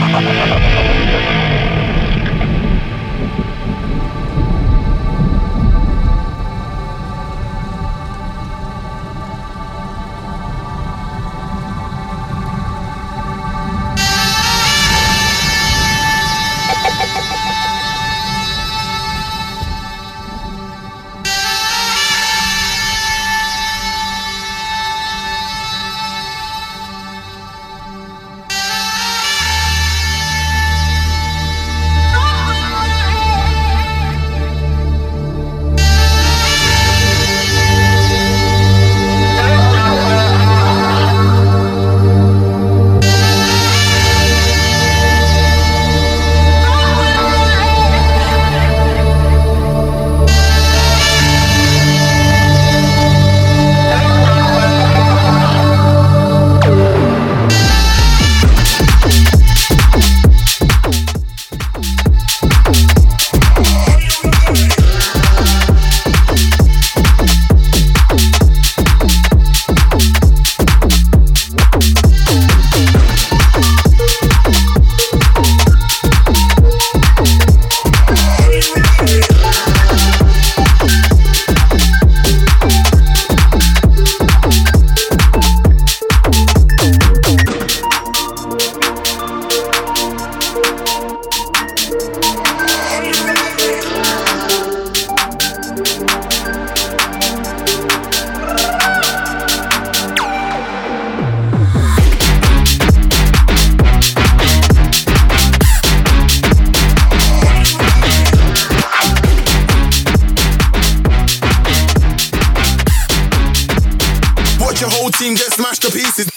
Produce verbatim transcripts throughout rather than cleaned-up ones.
team get smashed to pieces.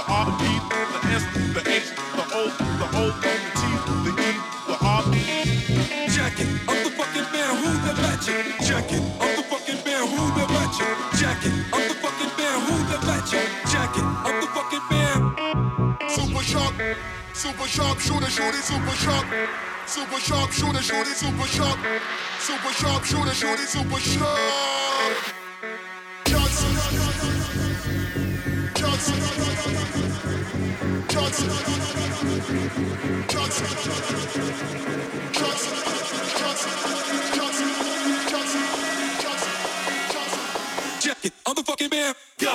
the R, the P, the S, the H, the O, the O, the T, the E, the R. Check it, I'm the fucking man, who the magic? Check it, I'm the fucking man, who the magic? Check it, I'm the fucking man, who the magic? Check it, I'm the fucking man. Super sharp, super sharp, shooter, shooter, super sharp. Super sharp, shooter, shooter, super sharp. Super sharp, shooter, shooter, super sharp. Johnson, Johnson, Johnson, Johnson, Johnson, Johnson, Johnson, Johnson, Johnson. Check it, I'm the fucking man. Go.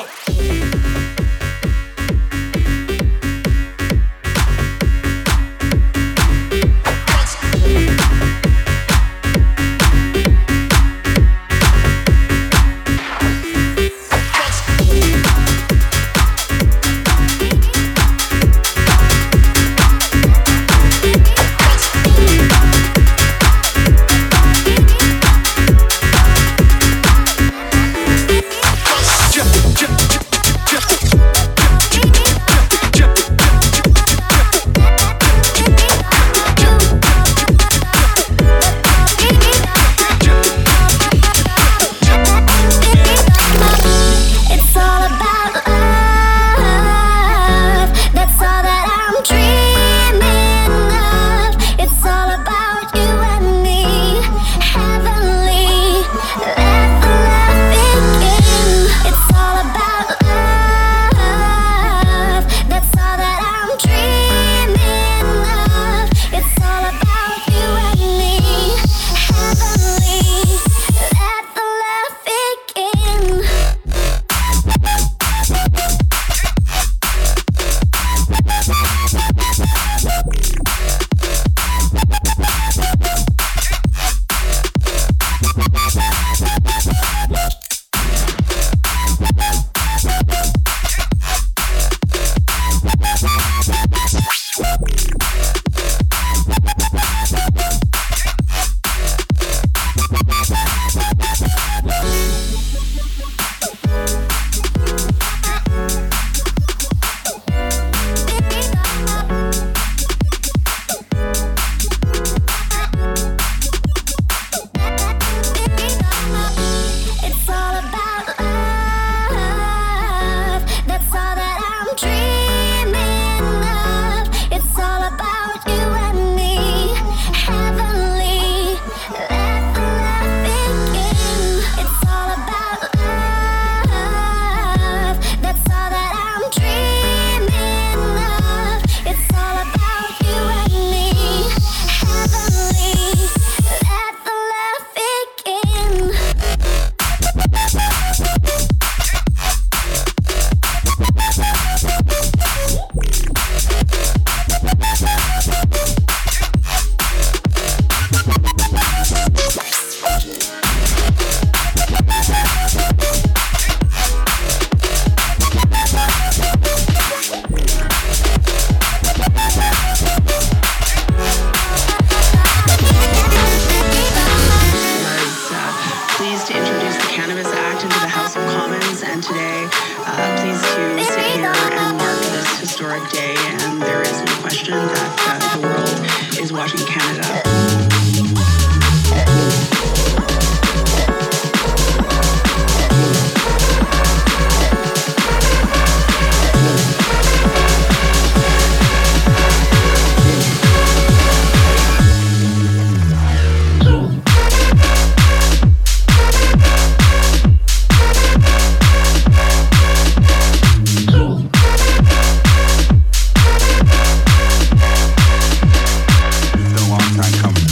Time coming.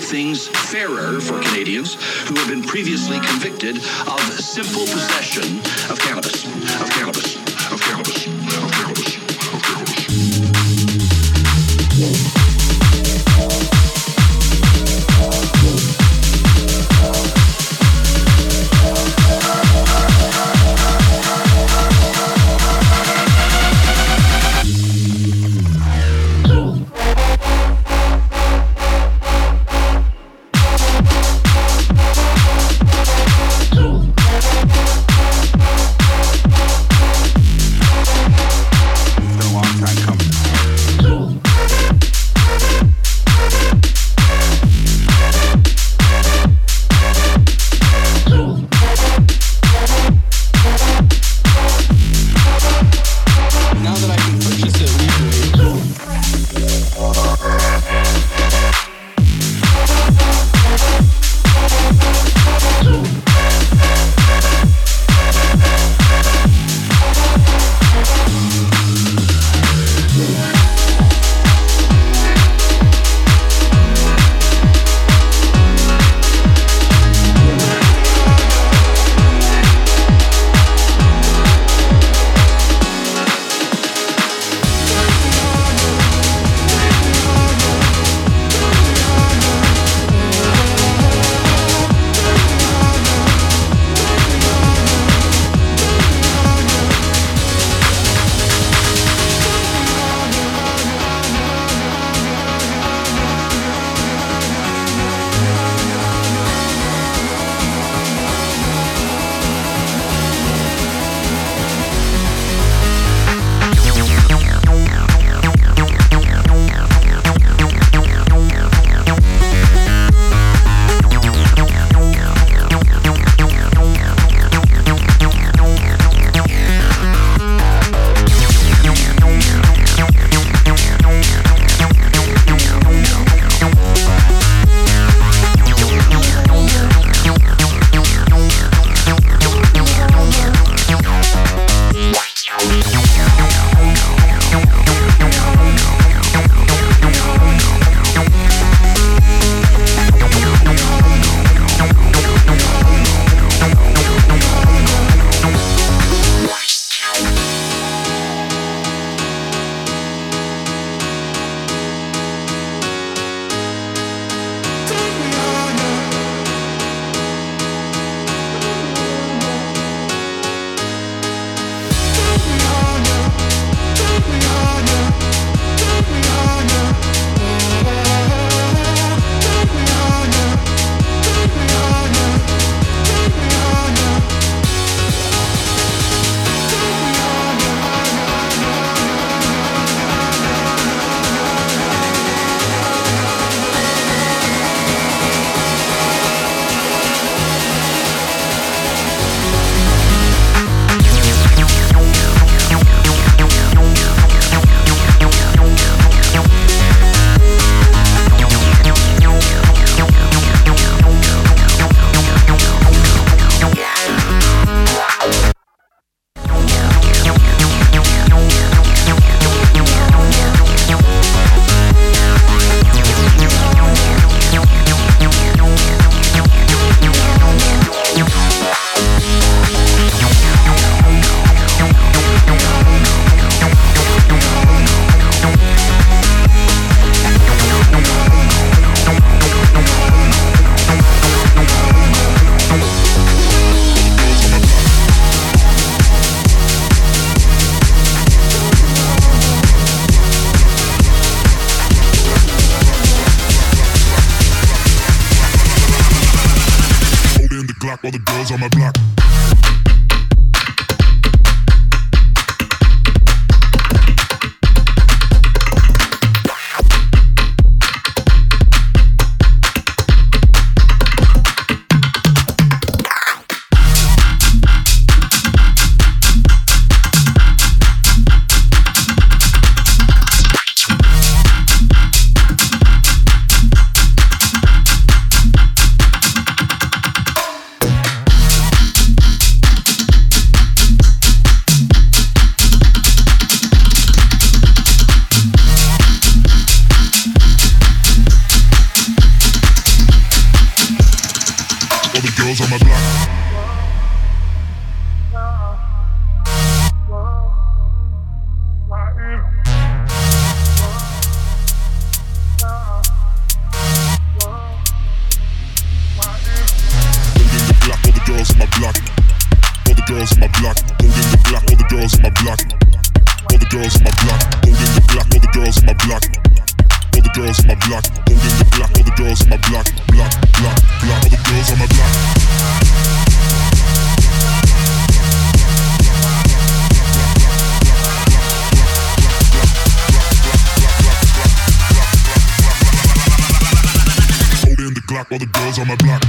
things fairer for Canadians who have been previously convicted of simple possession of cannabis, of cannabis, of cannabis, of cannabis, of cannabis. All the girls on my block. girls on my block, holding the block, all the girls on my block. All the girls on my block, holding the block, all the girls on my block, block, block, block, all the girls on my block. Holding the Glock, all the girls on my block.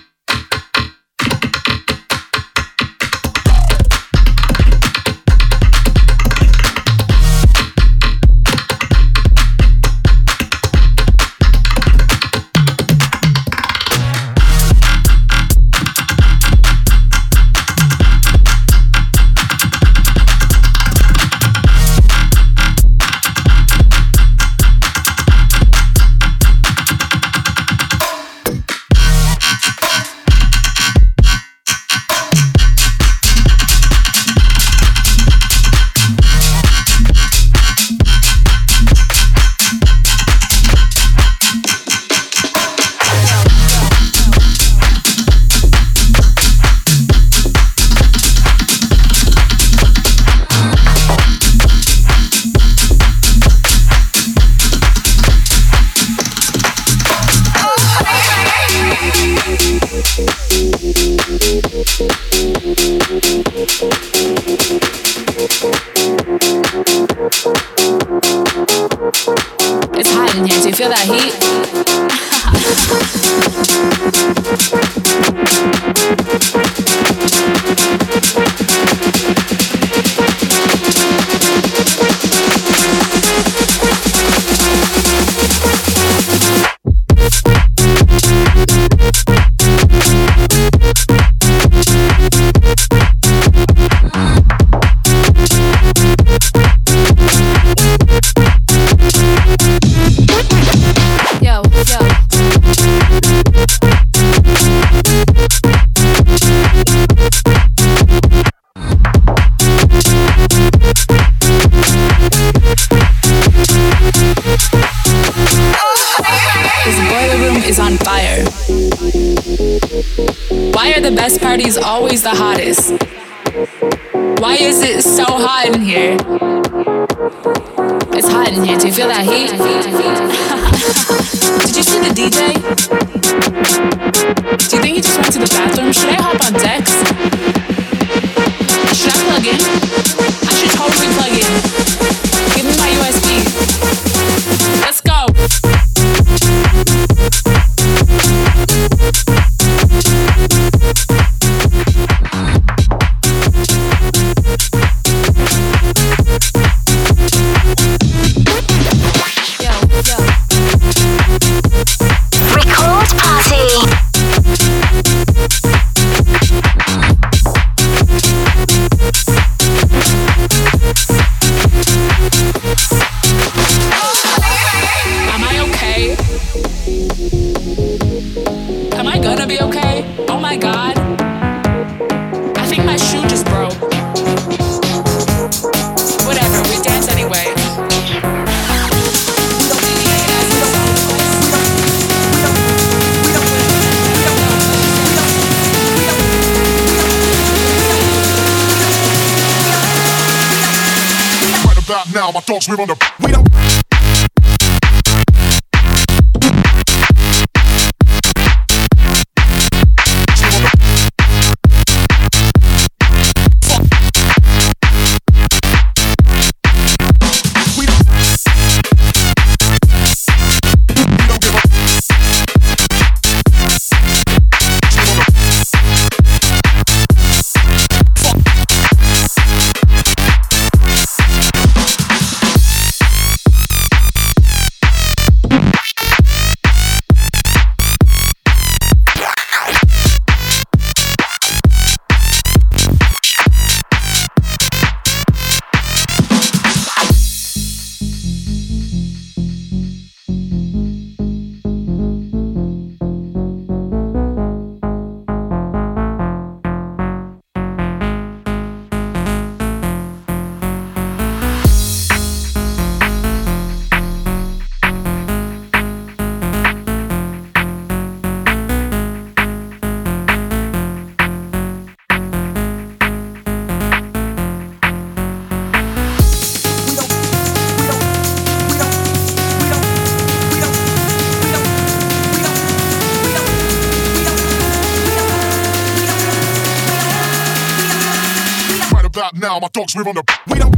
It's hot in here. Do you feel that heat? Yo, yo. This boiler room is on fire. Why are the best parties always the hottest? Why is it so hot in here? It's hot in here. Do you feel that heat? Did you see the D J? Do you think he just went to the bathroom? Should I hop on decks? Should I plug in? I should totally plug in. Give me my U S B. Let's go. Now my dogs, we're on the we don't style, my dogs we're on the. We don't.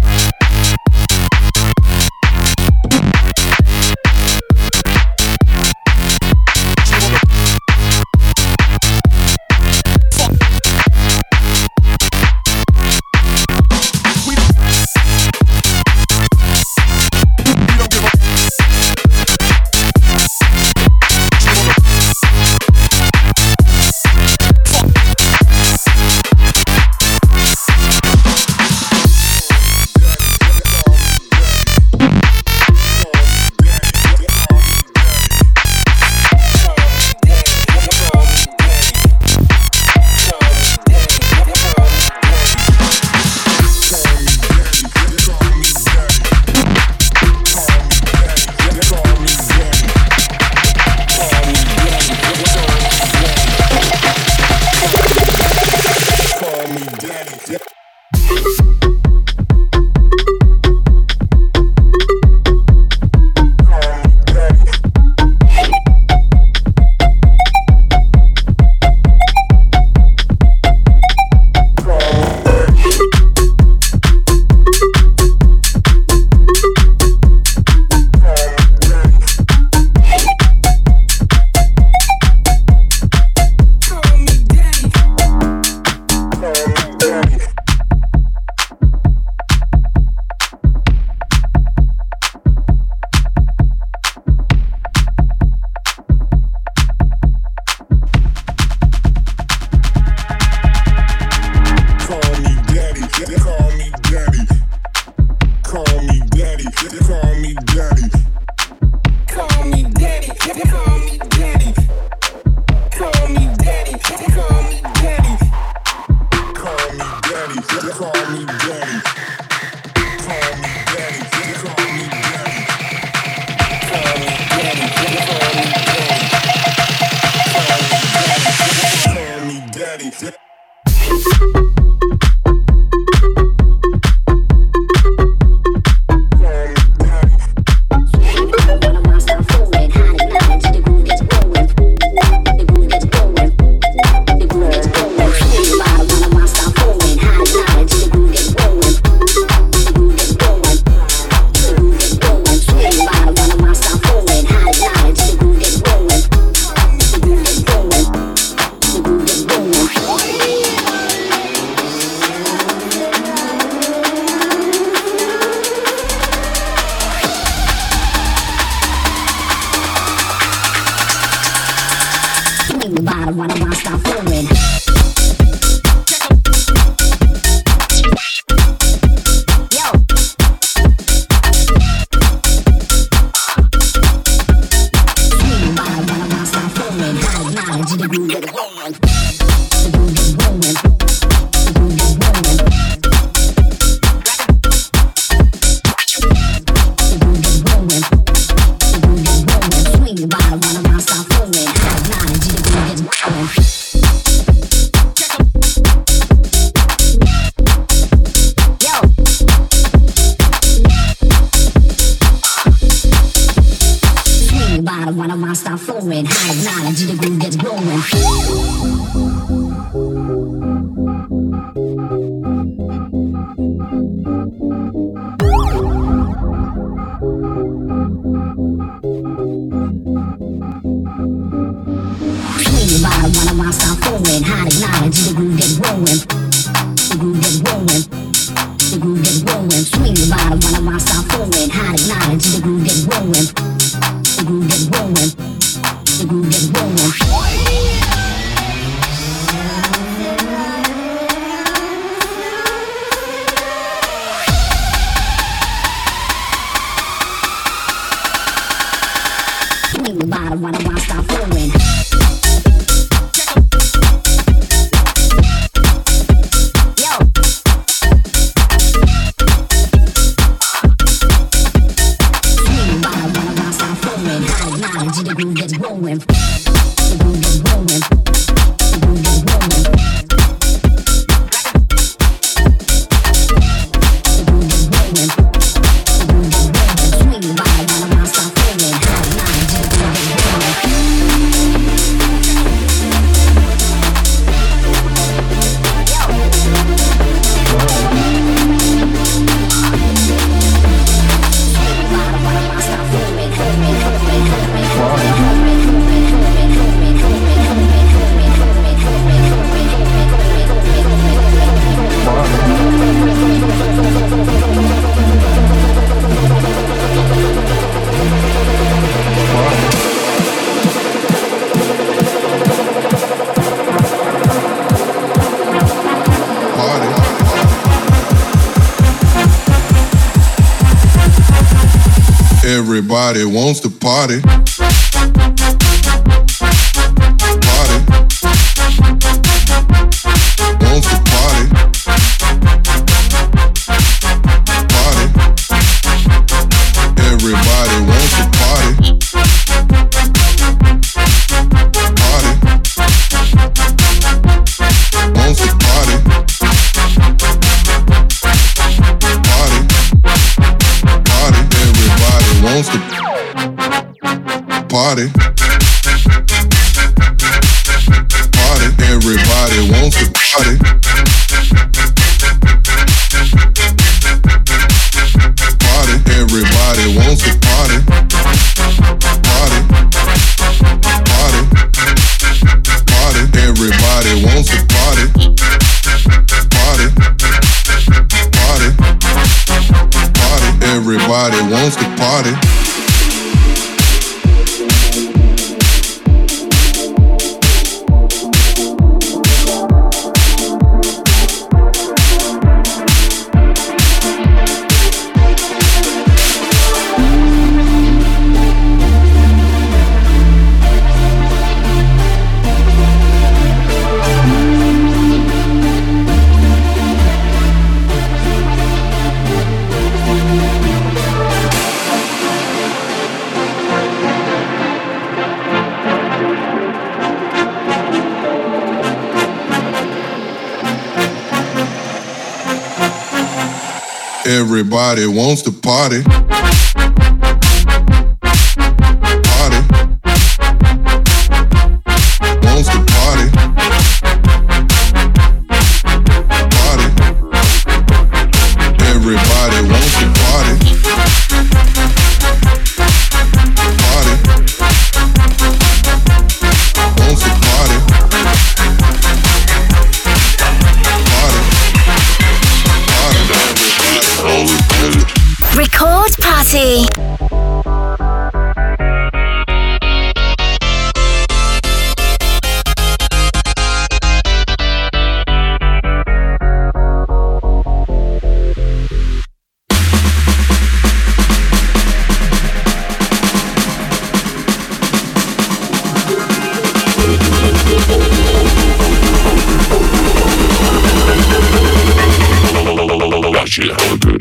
Swing your body, wanna stop feeling. Everybody wants to party. Party. Wants to party. Party. Everybody wants to party. Party. Wants to party. Party. Party. Everybody wants to party. Party. Everybody wants to party. Party. Everybody wants to party. Party. Party. Party. Everybody wants to party. Party. Party. Party. Everybody wants to party. Everybody wants to party. Party. Wants to party. Party. Everybody wants to party. Party. Wants to party. Party. Record Party. Shit, hella good.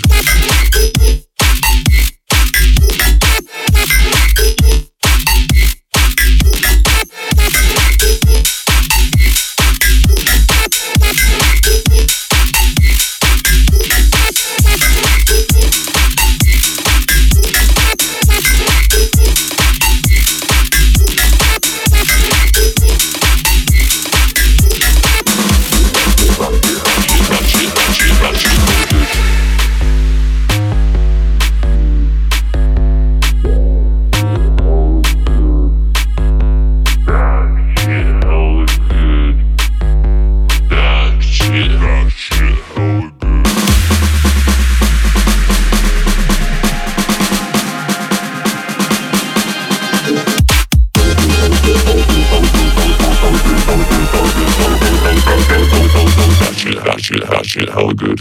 That shit, that shit, hella good.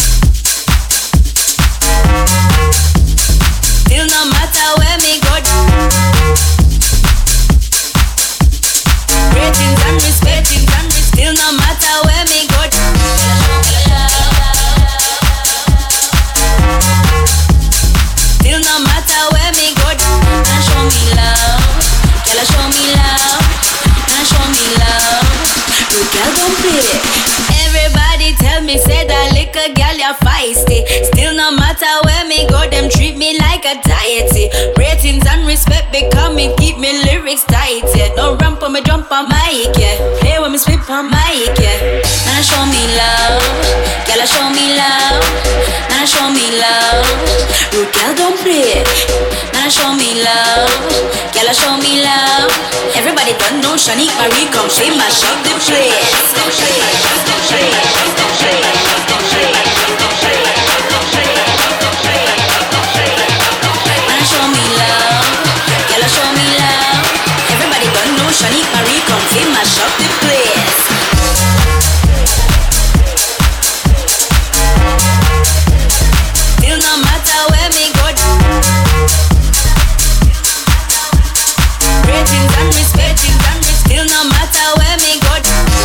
Still no matter where me go. are feisty. Still no matter where me go, them treat me like a deity. Ratings and respect because me keep me lyrics tight, yeah. No ramp on me jump on mic, yeah. Play when me spit on mic, yeah. Now show me love, girl, show me love. Now show me love, rude girl don't play. Now show me love, girl, show me love. Everybody don't know Shanique Marie come, she mash up the place. Now show me love, girl, show me love. Everybody don't know Shanique Marie come, she mash up the place. Still no matter where me go, ratings and respect, and still no matter where me go.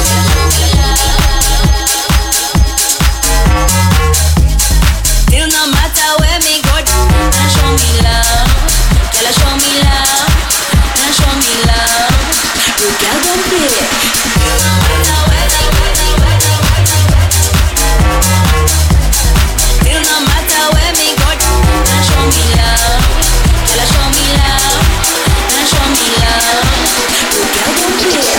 Still no matter where me go, now show me love, girl, show me love, now show me love. You girl don't play. Still no matter where me go, still no matter where me go, now show me love, girl, show me love, now show me love. You girl don't play.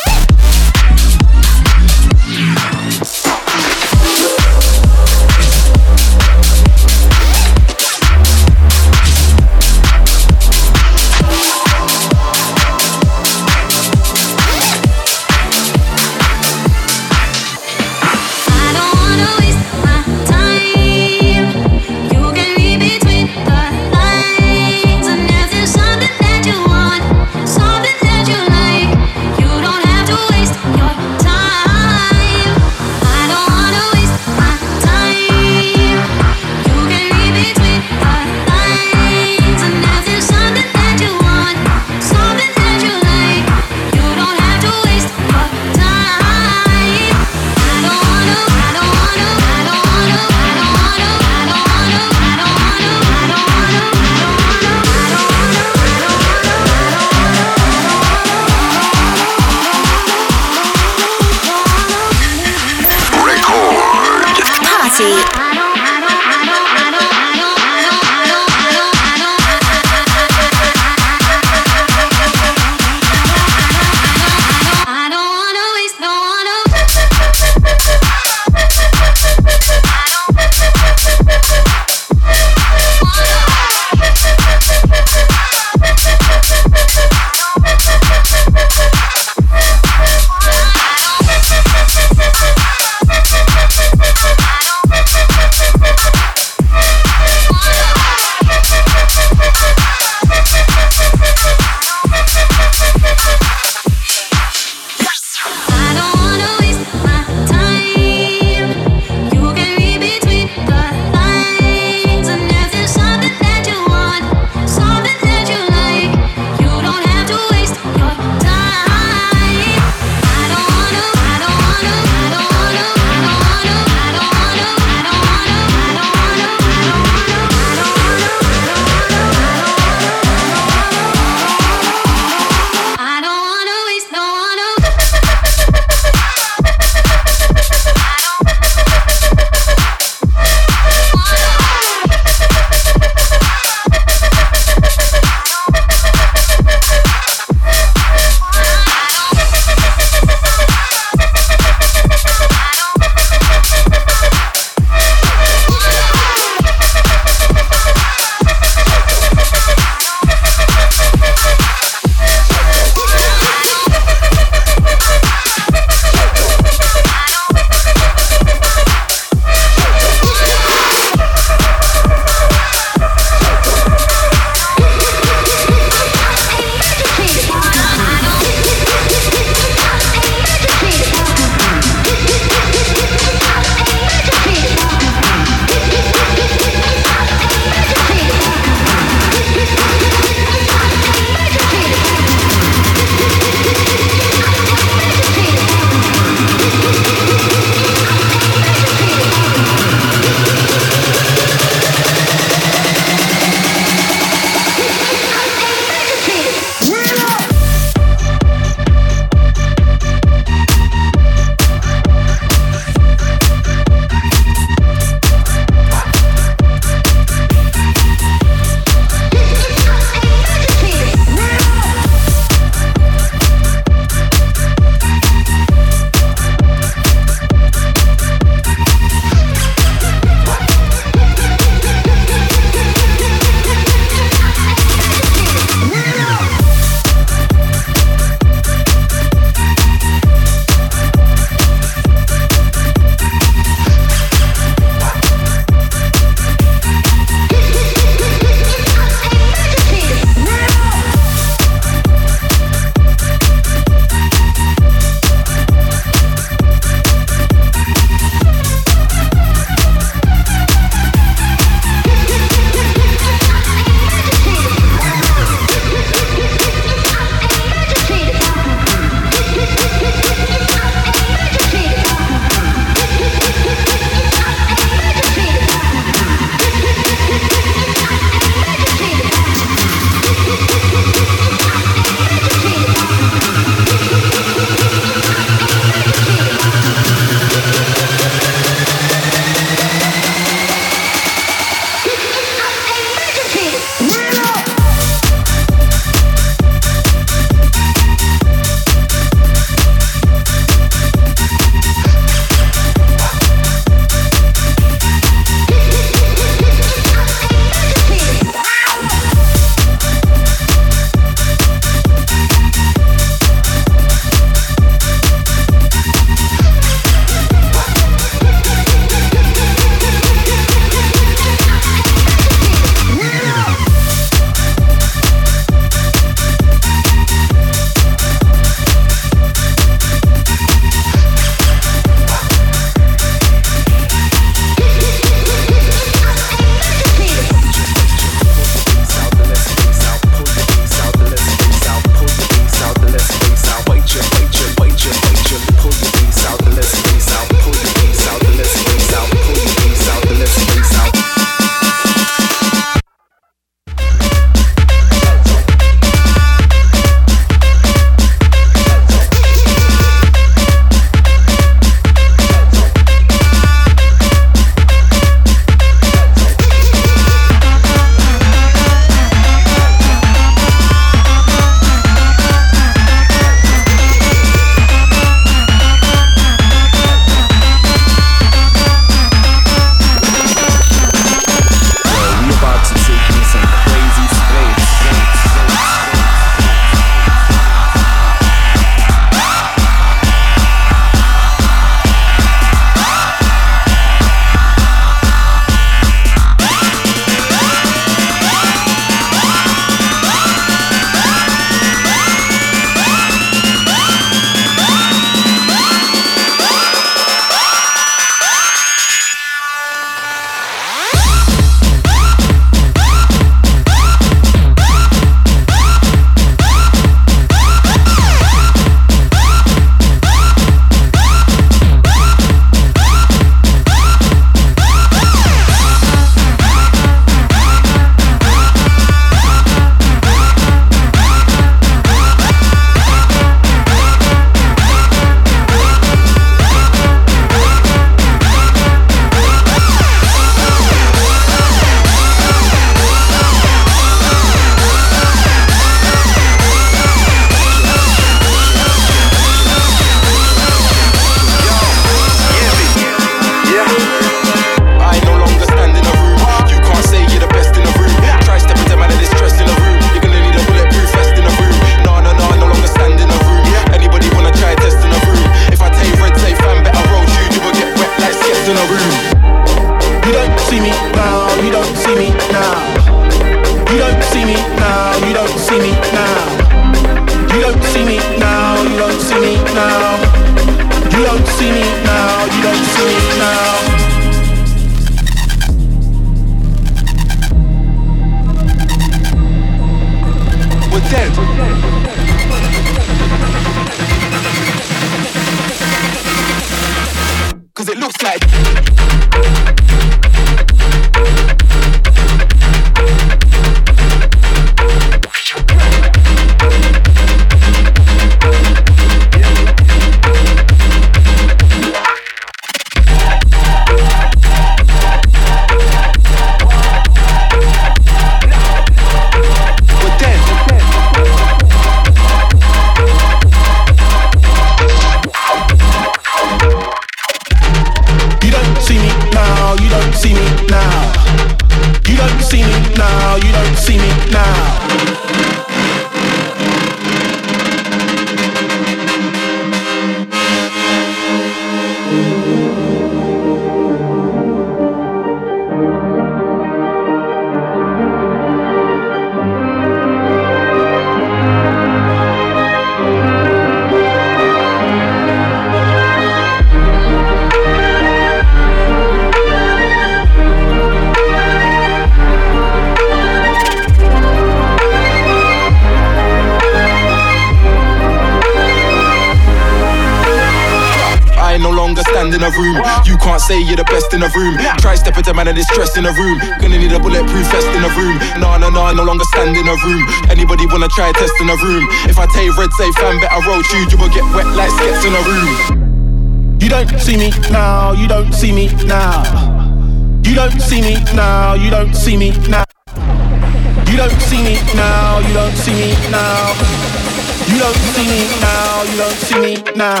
in a room. You can't say you're the best in the room. Try step into man and it's stress in the room. Gonna need a bulletproof vest in the room. Nah, nah, nah, no longer stand in a room. Anybody wanna try a test in a room? If I tell you red, say fam, better roll shoes, you will get wet like skets in a room. You don't see me now, you don't see me now. You don't see me now, you don't see me now. You don't see me now, you don't see me now. You don't see me now, you don't see me now.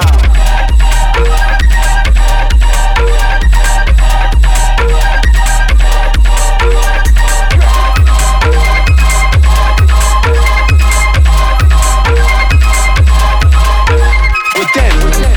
We're dead, we're dead.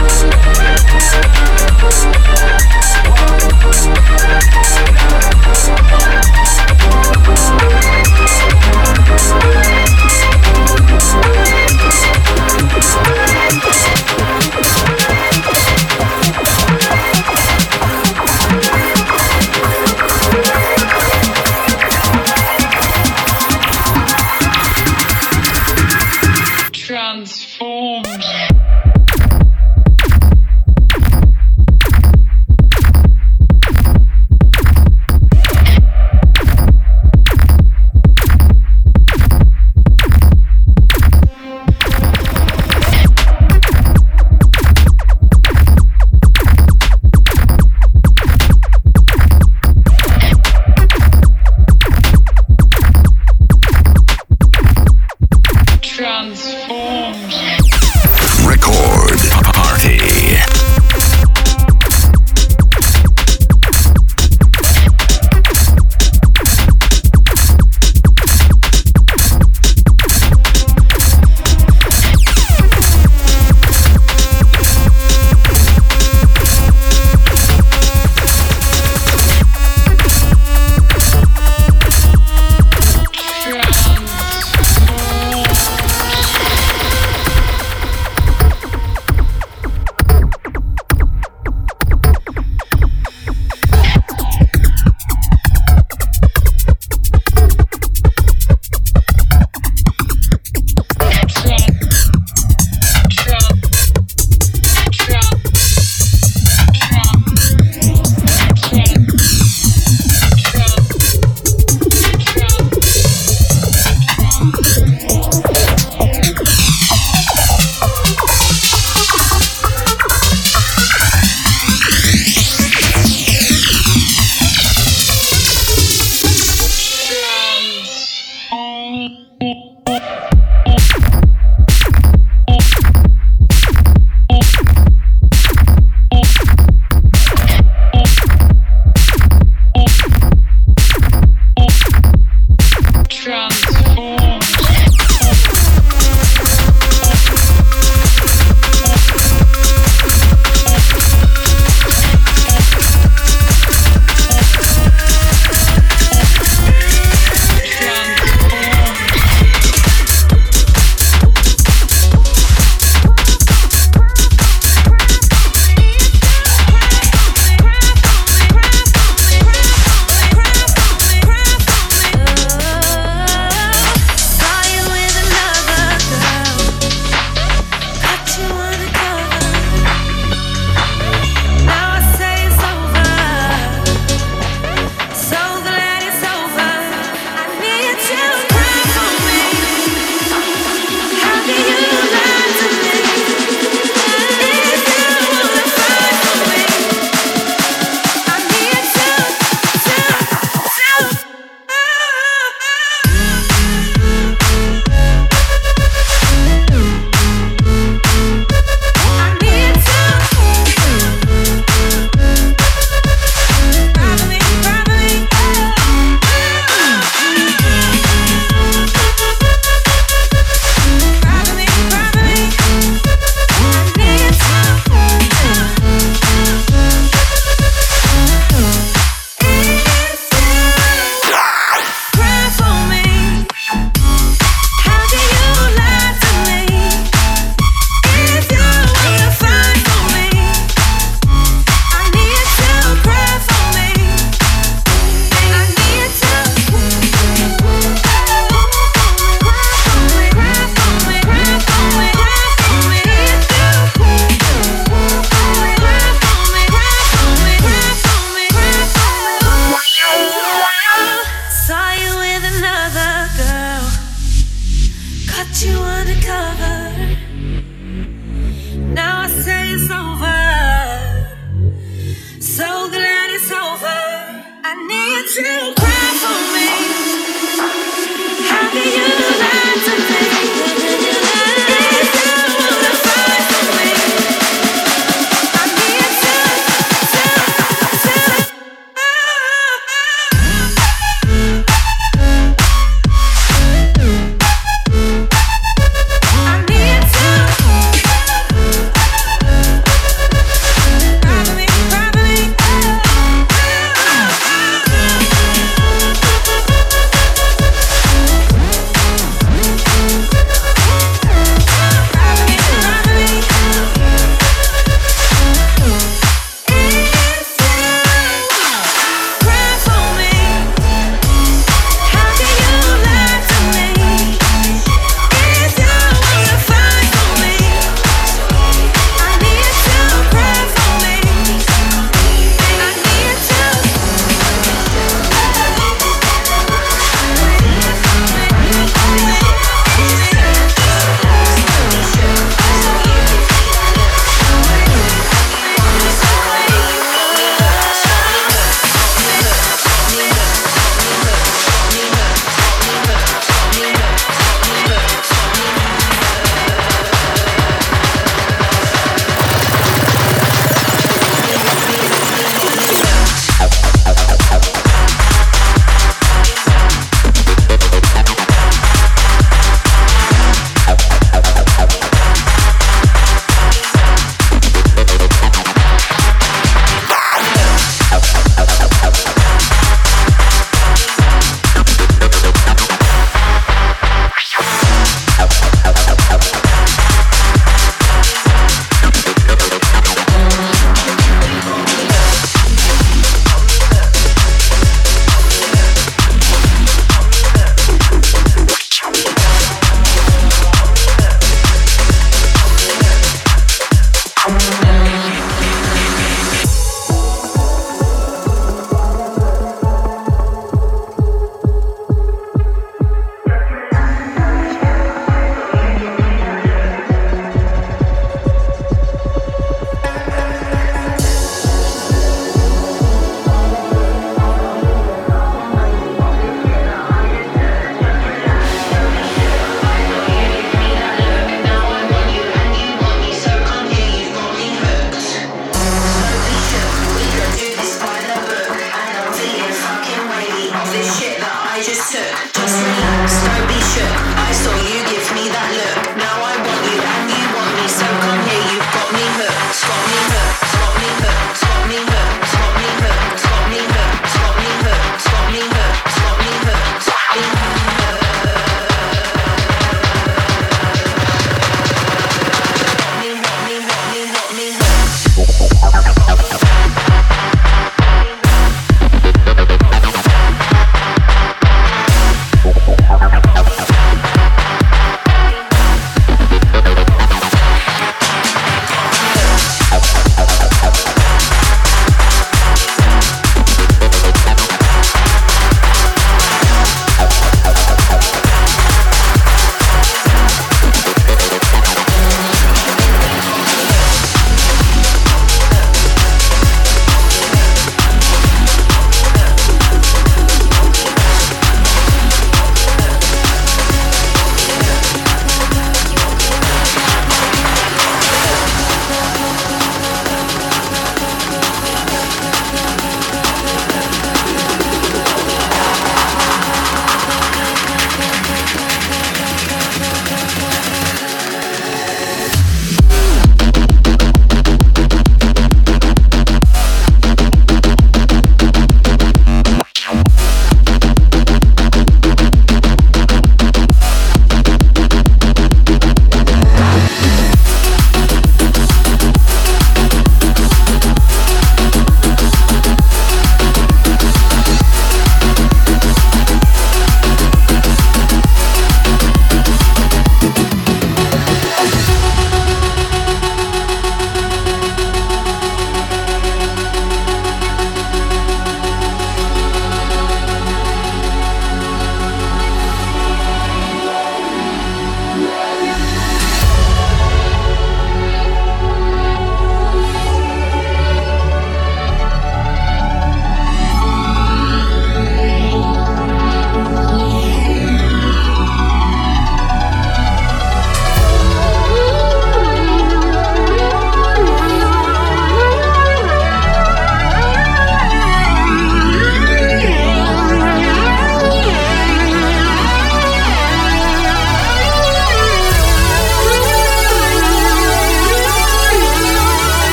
Uncensored. Just relax. Don't